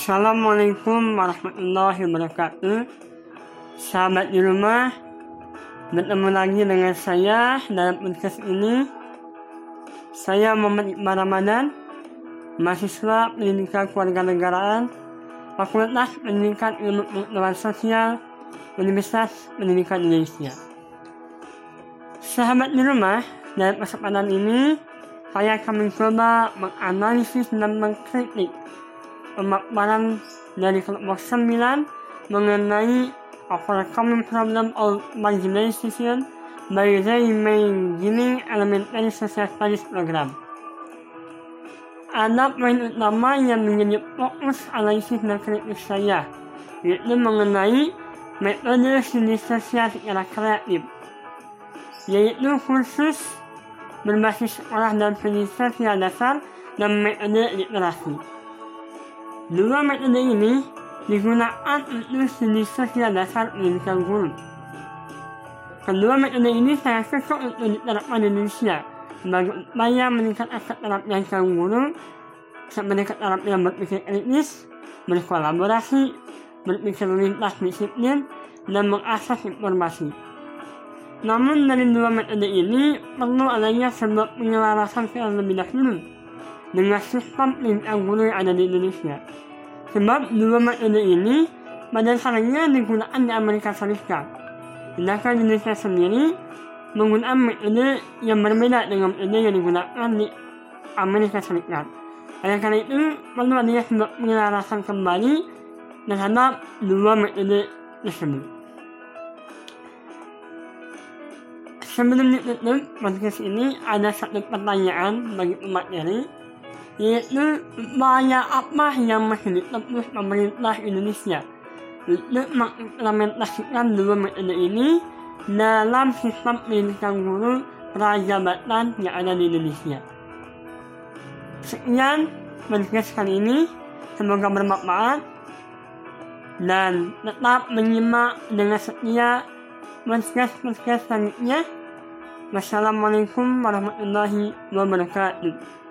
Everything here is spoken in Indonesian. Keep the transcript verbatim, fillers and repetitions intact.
Assalamualaikum warahmatullahi wabarakatuh. Sahabat di rumah, bertemu lagi dengan saya dalam podcast ini. Saya Muhammad Iqbal Ramadan, mahasiswa pendidikan kewarganegaraan, Fakultas Pendidikan Ilmu Pengetahuan Sosial, Universitas Pendidikan Indonesia. Sahabat di rumah, dalam kesempatan ini saya akan mencoba menganalisis dan mengkritik pemaparan dari kelompok sembilan mengenai overcoming problem of marginalization by reimagining elementary social studies program. Ada poin utama yang menjadi fokus analisis dan kritik saya, yaitu mengenai metode studi sosial secara kreatif, yaitu kursus berbasis sekolah dan studi sosial dasar dan metode literasi. Dua metode ini digunakan untuk studi sosial dasar pendidikan guru. Kedua metode ini saya cocok untuk diterapkan di Indonesia sebagai upaya meningkatkan keterampilan kaum guru seperti keterampilan berpikir kritis, berkolaborasi, berpikir lintas disiplin, dan mengakses informasi. Namun dari dua metode ini perlu adanya sebuah penyelarasan yang lebih dahulu dengan sistem pendidikan guru yang ada di Indonesia. Sebab dua metode ini pada dasarnya digunakan di Amerika Serikat, sedangkan Indonesia sendiri menggunakan metode yang berbeda dengan metode yang digunakan di Amerika Serikat. Oleh karena itu perlu adanya sebuah penyelarasan kembali terhadap dua metode tersebut. Sebelum ditutup podcast ini, ada satu pertanyaan bagi pemateri, yaitu upaya apa yang masih ditempuh pemerintah Indonesia untuk mengimplementasikan dua metode ini dalam sistem pendidikan guru prajabatan yang ada di Indonesia. Sekian podcast kali ini, semoga bermanfaat dan tetap menyimak dengan setia podcast-podcast selanjutnya. Wassalamualaikum warahmatullahi wabarakatuh.